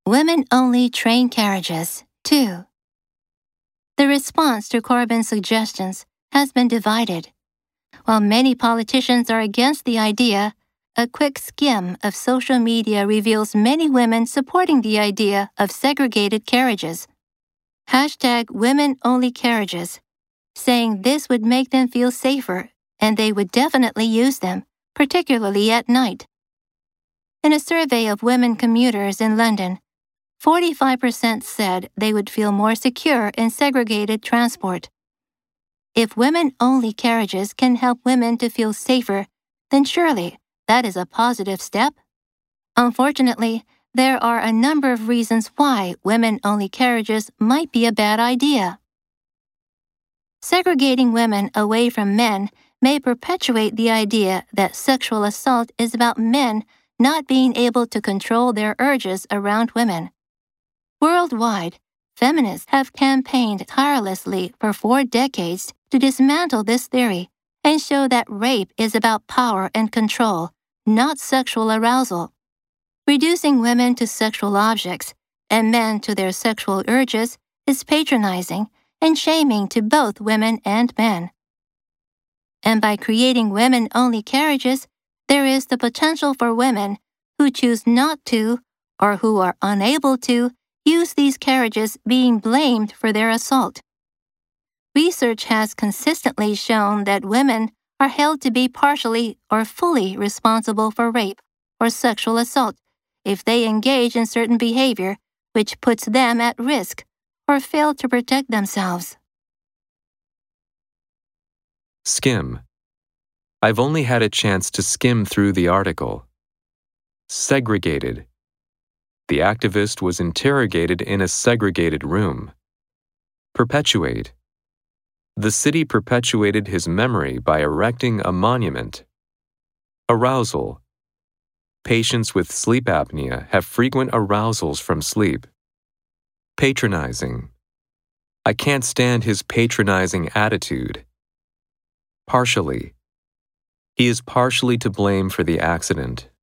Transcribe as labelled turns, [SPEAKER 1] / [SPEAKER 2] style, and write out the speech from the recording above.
[SPEAKER 1] Women-only train carriages, 2. The response to Corbyn's suggestions has been divided. While many politicians are against the idea, a quick skim of social media reveals many women supporting the idea of segregated carriages. #women-only carriages, saying this would make them feel safer and they would definitely use them, particularly at night. In a survey of women commuters in London, 45% said they would feel more secure in segregated transport. If women-only carriages can help women to feel safer, then surely that is a positive step. Unfortunately, there are a number of reasons why women-only carriages might be a bad idea. Segregating women away from men may perpetuate the idea that sexual assault is about men not being able to control their urges around women. Worldwide, feminists have campaigned tirelessly for 4 decades to dismantle this theory and show that rape is about power and control, not sexual arousal. Reducing women to sexual objects and men to their sexual urges is patronizing and shaming to both women and men. And by creating women-only carriages, there is the potential for women who choose not to or who are unable to use these carriages being blamed for their assault. Research has consistently shown that women are held to be partially or fully responsible for rape or sexual assault if they engage in certain behavior which puts them at risk or fail to protect themselves.
[SPEAKER 2] Skim. I've only had a chance to skim through the article. Segregated. The activist was interrogated in a segregated room. Perpetuate. The city perpetuated his memory by erecting a monument. Arousal. Patients with sleep apnea have frequent arousals from sleep. Patronizing. I can't stand his patronizing attitude. Partially. He is partially to blame for the accident.